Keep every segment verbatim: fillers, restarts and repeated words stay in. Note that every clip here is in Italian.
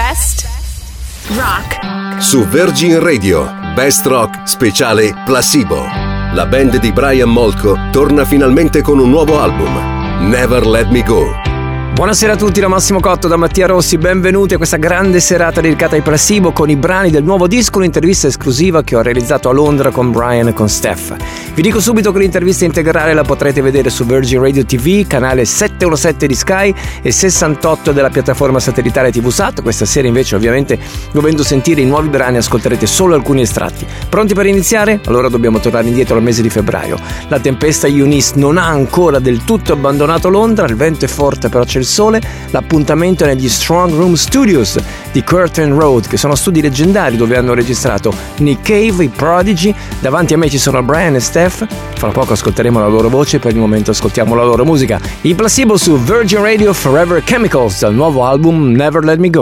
Best Rock. Su Virgin Radio, Best Rock speciale Placebo. La band di Brian Molko torna finalmente con un nuovo album, Never Let Me Go. Buonasera a tutti, da Massimo Cotto, da Mattia Rossi, benvenuti a questa grande serata dedicata ai Placebo con i brani del nuovo disco, un'intervista esclusiva che ho realizzato a Londra con Brian e con Steph. Vi dico subito che l'intervista integrale la potrete vedere su Virgin Radio ti vu, canale settecentossette di Sky e sessantotto della piattaforma satellitare TVSat. Questa sera invece, ovviamente, dovendo sentire i nuovi brani, ascolterete solo alcuni estratti. Pronti per iniziare? Allora dobbiamo tornare indietro al mese di febbraio. La tempesta Eunice non ha ancora del tutto abbandonato Londra, il vento è forte però c'è il sole. L'appuntamento è negli Strong Room Studios di Curtain Road, che sono studi leggendari dove hanno registrato Nick Cave, i Prodigy. Davanti a me ci sono Brian e Steph. Fra poco ascolteremo la loro voce, per il momento ascoltiamo la loro musica. I Placebo su Virgin Radio, Forever Chemicals, dal nuovo album Never Let Me Go.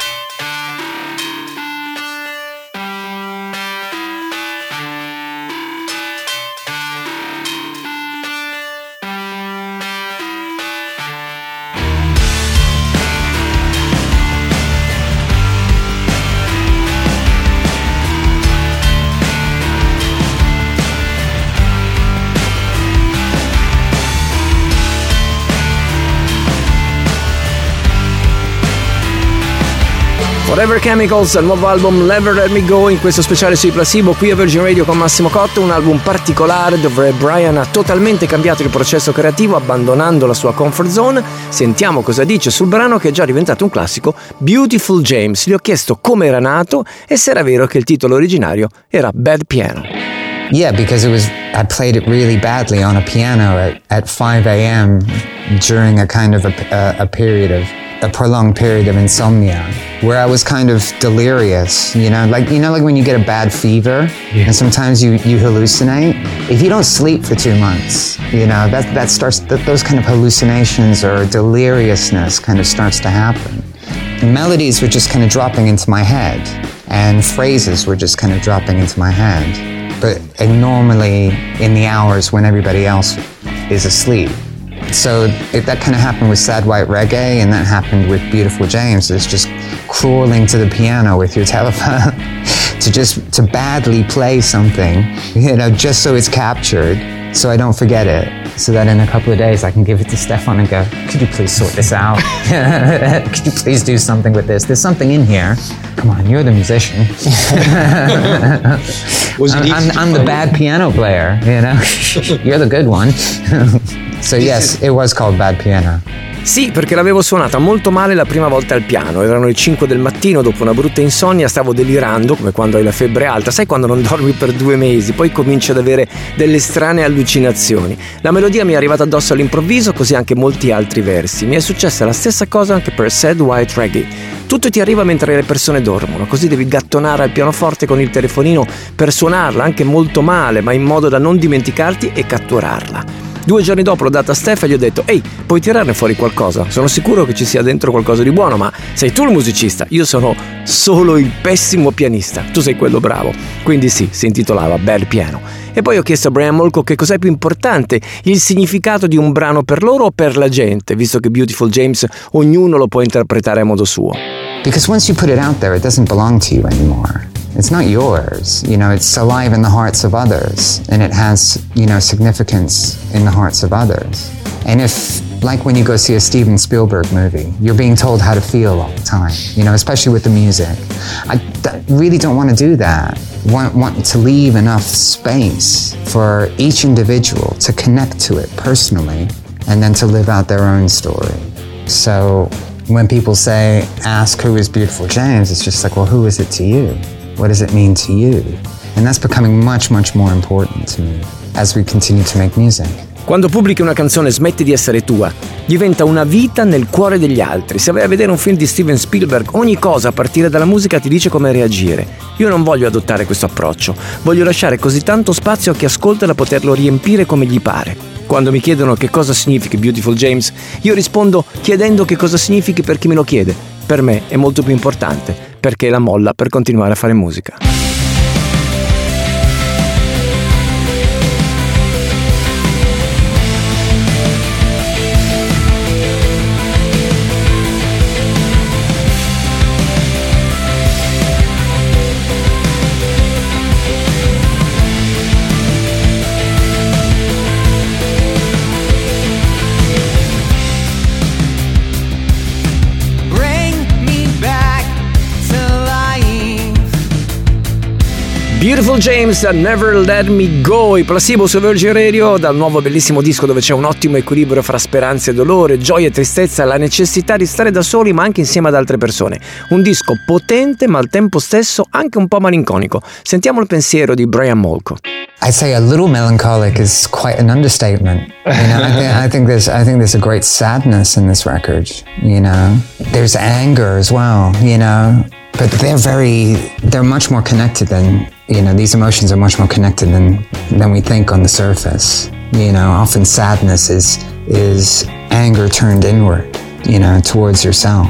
Forever Chemicals, il nuovo album Never Let Me Go, in questo speciale sui Placebo qui a Virgin Radio con Massimo Cotto, un album particolare dove Brian ha totalmente cambiato il processo creativo abbandonando la sua comfort zone. Sentiamo cosa dice sul brano che è già diventato un classico, Beautiful James. Gli ho chiesto come era nato e se era vero che il titolo originario era Bad Piano. Yeah, because it was, I played it really badly on a piano at, at five a.m. during a kind of a, a, a period of a prolonged period of insomnia where I was kind of delirious, you know, like, you know, like when you get a bad fever yeah. and sometimes you, you hallucinate. If you don't sleep for two months, you know, that, that starts, that, those kind of hallucinations or deliriousness kind of starts to happen. Melodies were just kind of dropping into my head and phrases were just kind of dropping into my head, but normally in the hours when everybody else is asleep. So it, that kind of happened with Sad White Reggae, and that happened with Beautiful James. It's just crawling to the piano with your telephone to just to badly play something, you know, just so it's captured, so I don't forget it. So that in a couple of days I can give it to Stefan and go, could you please sort this out? Could you please do something with this? There's something in here. Come on, you're the musician. I'm, I'm, I'm the bad piano player, you know? You're the good one. So yes, it was called Bad Piano. Sì, perché l'avevo suonata molto male la prima volta al piano. Erano le cinque del mattino, dopo una brutta insonnia, stavo delirando, come quando hai la febbre alta. Sai quando non dormi per due mesi, poi cominci ad avere delle strane allucinazioni. La melodia mi è arrivata addosso all'improvviso, così anche molti altri versi. Mi è successa la stessa cosa anche per Sad White Reggae. Tutto ti arriva mentre le persone dormono, così devi gattonare al pianoforte con il telefonino per suonarla, anche molto male, ma in modo da non dimenticarti e catturarla. Due giorni dopo l'ho data a Steph e gli ho detto: ehi, puoi tirarne fuori qualcosa? Sono sicuro che ci sia dentro qualcosa di buono, ma sei tu il musicista, io sono solo il pessimo pianista, tu sei quello bravo. Quindi sì, si intitolava Bad Piano. E poi ho chiesto a Brian Molko che cos'è più importante, il significato di un brano per loro o per la gente, visto che Beautiful James ognuno lo può interpretare a modo suo. Because once you put it out there, it doesn't belong to you anymore. It's not yours, you know, it's alive in the hearts of others, and it has, you know, significance in the hearts of others. And if, like when you go see a Steven Spielberg movie, you're being told how to feel all the time, you know, especially with the music. I th- really don't want to do that. Want, want to leave enough space for each individual to connect to it personally, and then to live out their own story. So when people say, ask who is Beautiful James, it's just like, well, who is it to you? What does it mean to you? And that's becoming much, much more important to me as we continue to make music. Quando pubblichi una canzone smetti di essere tua, diventa una vita nel cuore degli altri. Se vai a vedere un film di Steven Spielberg, ogni cosa a partire dalla musica ti dice come reagire. Io non voglio adottare questo approccio, voglio lasciare così tanto spazio a chi ascolta da poterlo riempire come gli pare. Quando mi chiedono che cosa significhi Beautiful James, io rispondo chiedendo che cosa significhi per chi me lo chiede. Per me è molto più importante, perché è la molla per continuare a fare musica. Beautiful James, Never Let Me Go, i Placebo su Virgin Radio, dal nuovo bellissimo disco dove c'è un ottimo equilibrio fra speranza e dolore, gioia e tristezza, la necessità di stare da soli ma anche insieme ad altre persone. Un disco potente ma al tempo stesso anche un po' malinconico. Sentiamo il pensiero di Brian Molko. I'd say a little melancholic is quite an understatement. You know, I, th- I think there's, I think there's a great sadness in this record. You know, there's anger as well. You know, but they're very, they're much more connected than, you know, these emotions are much more connected than than we think on the surface. You know, often sadness is is anger turned inward. You know, towards yourself.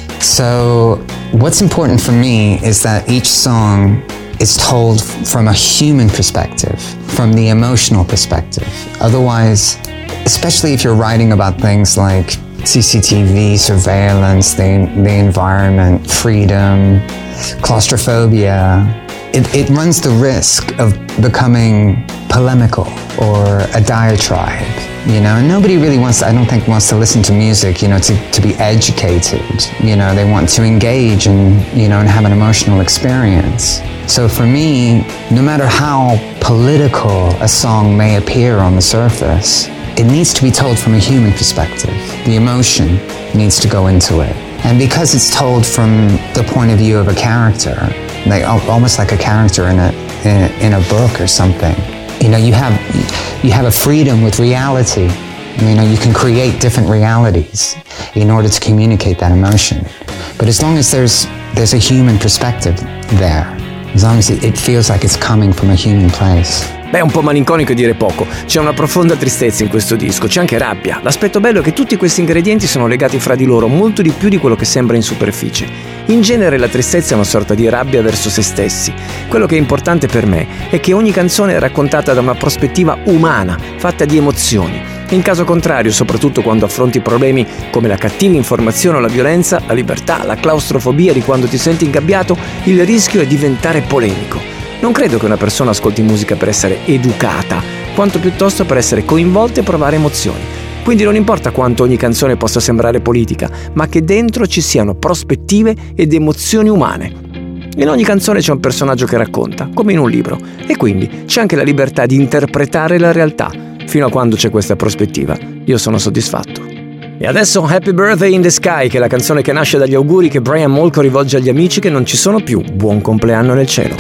So, what's important for me is that each song is told from a human perspective, from the emotional perspective. Otherwise, especially if you're writing about things like C C T V, surveillance, the, the environment, freedom, claustrophobia, it, it runs the risk of becoming polemical or a diatribe. You know, and nobody really wants to, I don't think wants to listen to music, you know, to, to be educated. You know, they want to engage and, you know, and have an emotional experience. So for me, no matter how political a song may appear on the surface, it needs to be told from a human perspective. The emotion needs to go into it. And because it's told from the point of view of a character, like almost like a character in a, in a, in a book or something, you know, you have, you have a freedom with reality. You know, you can create different realities in order to communicate that emotion. But as long as there's, there's a human perspective there, as long as it feels like it's coming from a human place. Beh, un po' malinconico è dire poco. C'è una profonda tristezza in questo disco, c'è anche rabbia. L'aspetto bello è che tutti questi ingredienti sono legati fra di loro molto di più di quello che sembra in superficie. In genere la tristezza è una sorta di rabbia verso se stessi. Quello che è importante per me è che ogni canzone è raccontata da una prospettiva umana, fatta di emozioni. In caso contrario, soprattutto quando affronti problemi come la cattiva informazione o la violenza, la libertà, la claustrofobia di quando ti senti ingabbiato, il rischio è diventare polemico. Non credo che una persona ascolti musica per essere educata, quanto piuttosto per essere coinvolta e provare emozioni. Quindi non importa quanto ogni canzone possa sembrare politica, ma che dentro ci siano prospettive ed emozioni umane. In ogni canzone c'è un personaggio che racconta, come in un libro, e quindi c'è anche la libertà di interpretare la realtà. Fino a quando c'è questa prospettiva, io sono soddisfatto. E adesso Happy Birthday in the Sky, che è la canzone che nasce dagli auguri che Brian Molko rivolge agli amici che non ci sono più. Buon compleanno nel cielo.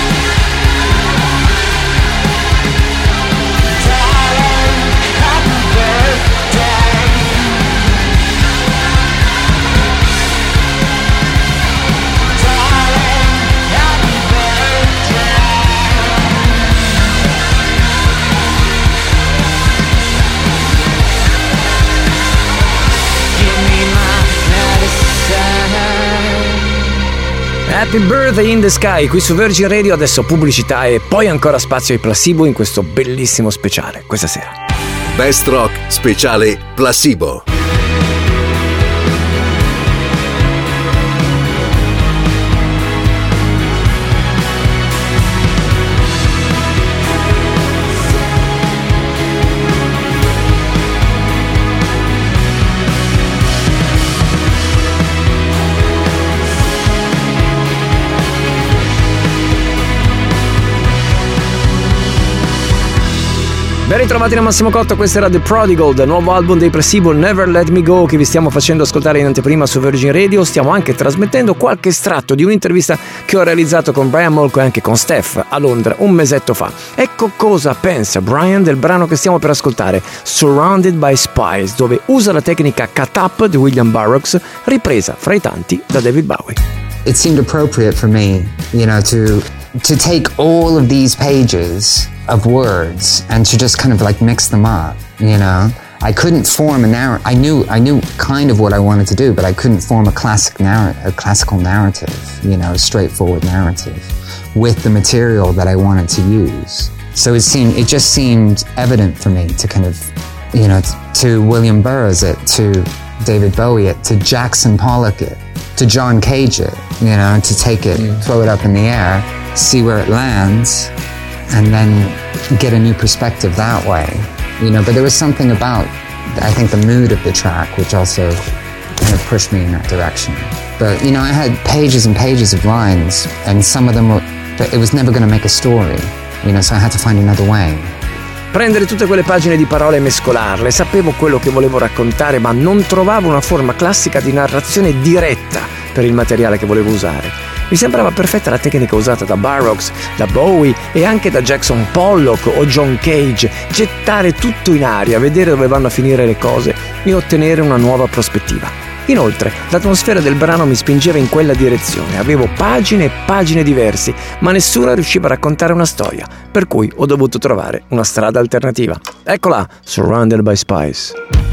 Happy Birthday in the Sky, qui su Virgin Radio, adesso pubblicità e poi ancora spazio ai Placebo in questo bellissimo speciale questa sera. Best Rock speciale Placebo. Ben ritrovati da Massimo Cotto, questo era The Prodigal, del nuovo album dei Placebo, Never Let Me Go, che vi stiamo facendo ascoltare in anteprima su Virgin Radio. Stiamo anche trasmettendo qualche estratto di un'intervista che ho realizzato con Brian Molko e anche con Steph a Londra un mesetto fa. Ecco cosa pensa Brian del brano che stiamo per ascoltare, Surrounded by Spies, dove usa la tecnica cut up di William Burroughs, ripresa fra i tanti da David Bowie. It seemed appropriate for me, you know, to to take all of these pages of words and to just kind of like mix them up, you know. I couldn't form a narrative. I knew I knew kind of what I wanted to do, but I couldn't form a classic narr- a classical narrative, you know, a straightforward narrative with the material that I wanted to use. So it seemed it just seemed evident for me to kind of, you know, t- to William Burroughs it, to David Bowie it, to Jackson Pollock it, to John Cage it, you know, to take it, mm. throw it up in the air, see where it lands, and then get a new perspective that way, you know. But there was something about, I think, the mood of the track, which also kind of pushed me in that direction. But, you know, I had pages and pages of lines, and some of them were but it was never going to make a story, you know, so I had to find another way. Prendere tutte quelle pagine di parole e mescolarle, sapevo quello che volevo raccontare, ma non trovavo una forma classica di narrazione diretta per il materiale che volevo usare. Mi sembrava perfetta la tecnica usata da Burroughs, da Bowie e anche da Jackson Pollock o John Cage, gettare tutto in aria, vedere dove vanno a finire le cose e ottenere una nuova prospettiva. Inoltre, l'atmosfera del brano mi spingeva in quella direzione, avevo pagine e pagine diverse, ma nessuna riusciva a raccontare una storia, per cui ho dovuto trovare una strada alternativa. Eccola, Surrounded by Spies.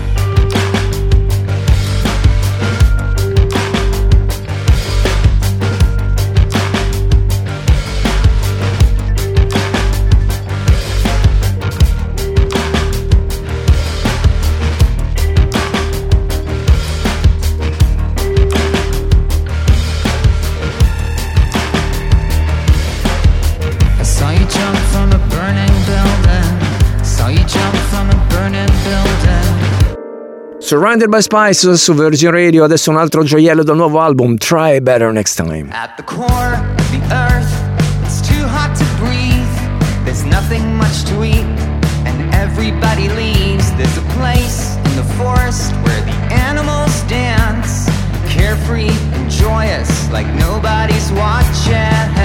Surrounded by Spies su Virgin Radio, adesso un altro gioiello dal nuovo album, Try Better Next Time. At the core of the earth, it's too hot to breathe. There's nothing much to eat, and everybody leaves. There's a place in the forest where the animals dance, carefree and joyous, like nobody's watching,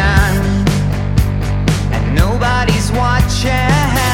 and nobody's watching.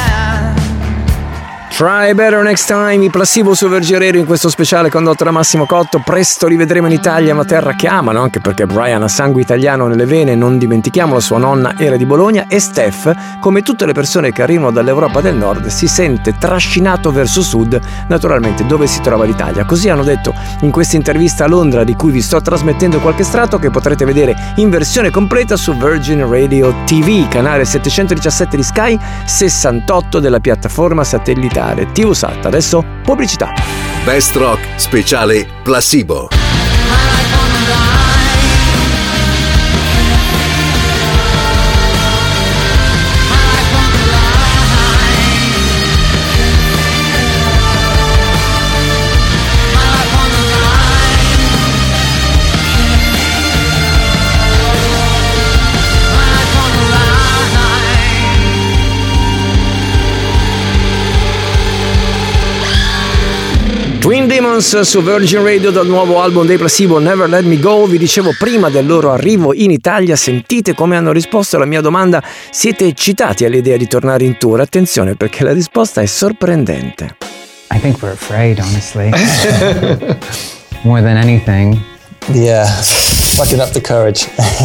Try Better Next Time, i Placebo su Virgin Radio in questo speciale condotto da Massimo Cotto. Presto li vedremo in Italia, ma terra che amano, anche perché Brian ha sangue italiano nelle vene, non dimentichiamolo, sua nonna era di Bologna, e Steph, come tutte le persone che arrivano dall'Europa del Nord, si sente trascinato verso sud, naturalmente dove si trova l'Italia. Così hanno detto in questa intervista a Londra, di cui vi sto trasmettendo qualche estratto che potrete vedere in versione completa su Virgin Radio T V, canale settecentodiciassette di Sky, sessantotto della piattaforma satellitare T V Sat. Adesso pubblicità. Best Rock speciale Placebo. Twin Demons su Virgin Radio dal nuovo album dei Placebo, Never Let Me Go. Vi dicevo prima del loro arrivo in Italia, sentite come hanno risposto alla mia domanda: siete eccitati all'idea di tornare in tour? Attenzione, perché la risposta è sorprendente. I think we're afraid, honestly. More than anything. Yeah, plucking up the courage.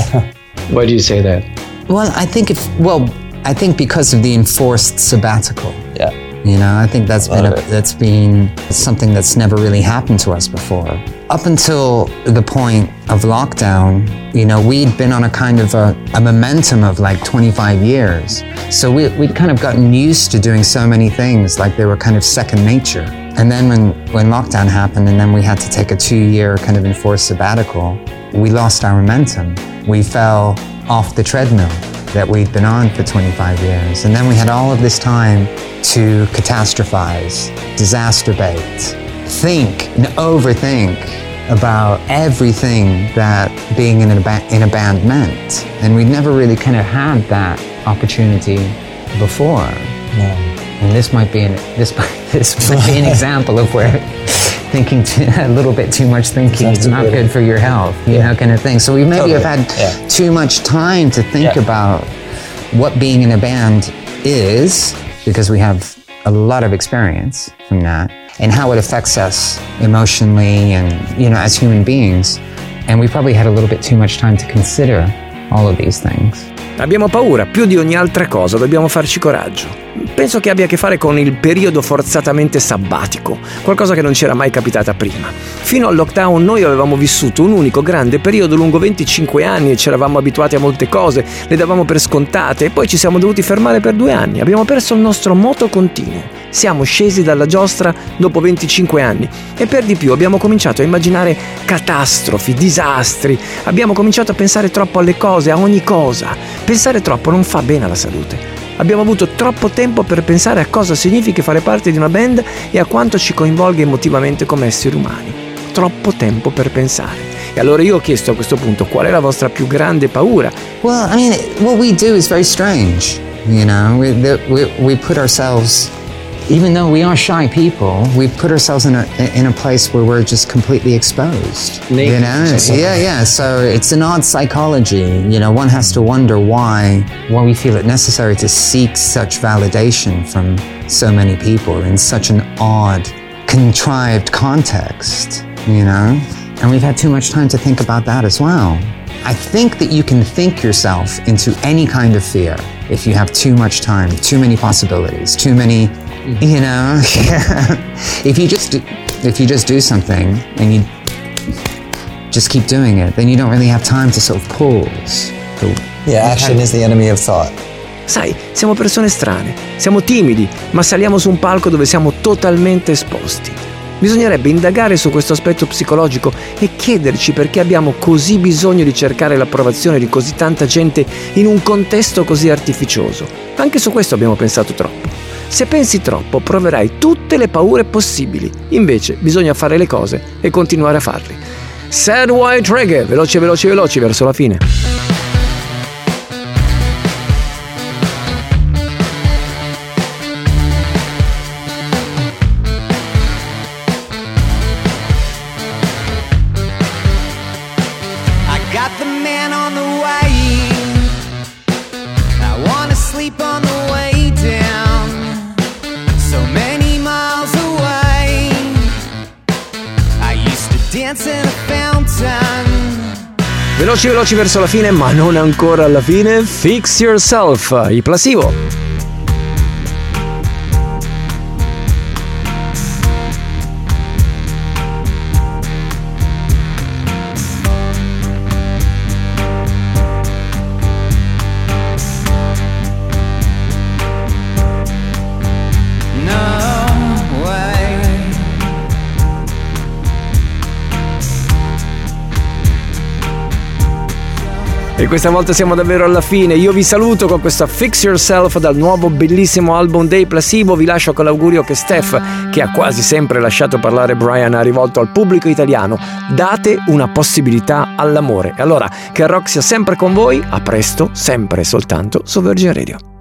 Why do you say that? Well, I think if, well, I think because of the enforced sabbatical. Yeah. You know, I think that's been a, that's been something that's never really happened to us before. Up until the point of lockdown, you know, we'd been on a kind of a, a momentum of like twenty-five years. So we, we'd kind of gotten used to doing so many things, like they were kind of second nature. And then when, when lockdown happened and then we had to take a two-year kind of enforced sabbatical, we lost our momentum. We fell off the treadmill that we'd been on for twenty-five years. And then we had all of this time to catastrophize, disaster bait, think and overthink about everything that being in a, ba- in a band meant. And we'd never really kind of had that opportunity before. Yeah. And this might be an, this, this might be an example of where thinking too, a little bit too much thinking is not good for your health, you yeah. know, kind of thing. So we maybe totally. have had yeah. too much time to think yeah. about what being in a band is, because we have a lot of experience from that, and how it affects us emotionally and, you know, as human beings. And we probably had a little bit too much time to consider all of these things. Abbiamo paura più di ogni altra cosa, dobbiamo farci coraggio. Penso che abbia a che fare con il periodo forzatamente sabbatico, qualcosa che non c'era mai capitata prima. Fino al lockdown noi avevamo vissuto un unico grande periodo lungo venticinque anni e ci eravamo abituati a molte cose, le davamo per scontate, e poi ci siamo dovuti fermare per due anni. Abbiamo perso il nostro moto continuo. Siamo scesi dalla giostra dopo venticinque anni e per di più abbiamo cominciato a immaginare catastrofi, disastri, abbiamo cominciato a pensare troppo alle cose, a ogni cosa. Pensare troppo non fa bene alla salute. Abbiamo avuto troppo tempo per pensare a cosa significa fare parte di una band e a quanto ci coinvolga emotivamente come esseri umani. Troppo tempo per pensare. E allora io ho chiesto a questo punto qual è la vostra più grande paura. Well, I mean, what we do is very strange. You know, we, the, we, we put ourselves, even though we are shy people, we put ourselves in a, in a place where we're just completely exposed. Naked. You know, yeah, yeah. So it's an odd psychology. You know, one has to wonder why, why we feel it necessary to seek such validation from so many people in such an odd, contrived context, you know? And we've had too much time to think about that as well. I think that you can think yourself into any kind of fear if you have too much time, too many possibilities, too many, you know, if you just do, if you just do something and you just keep doing it, then you don't really have time to sort of pause. Yeah, action is the enemy of thought. Sai, siamo persone strane, siamo timidi, ma saliamo su un palco dove siamo totalmente esposti. Bisognerebbe indagare su questo aspetto psicologico e chiederci perché abbiamo così bisogno di cercare l'approvazione di così tanta gente in un contesto così artificioso. Anche su questo abbiamo pensato troppo. Se pensi troppo, proverai tutte le paure possibili. Invece bisogna fare le cose e continuare a farle. Sad White Reggae, veloci, veloci, veloci verso la fine. Got the man on the way. I wanna sleep on the way down. So many miles away. I used to dance in a fountain. Veloci, veloci verso la fine, ma non ancora alla fine. Fix Yourself, i Placebo. E questa volta siamo davvero alla fine. Io vi saluto con questa Fix Yourself dal nuovo bellissimo album dei Placebo. Vi lascio con l'augurio che Steph, che ha quasi sempre lasciato parlare Brian, ha rivolto al pubblico italiano: date una possibilità all'amore. E allora che il rock sia sempre con voi. A presto, sempre e soltanto su Virgin Radio.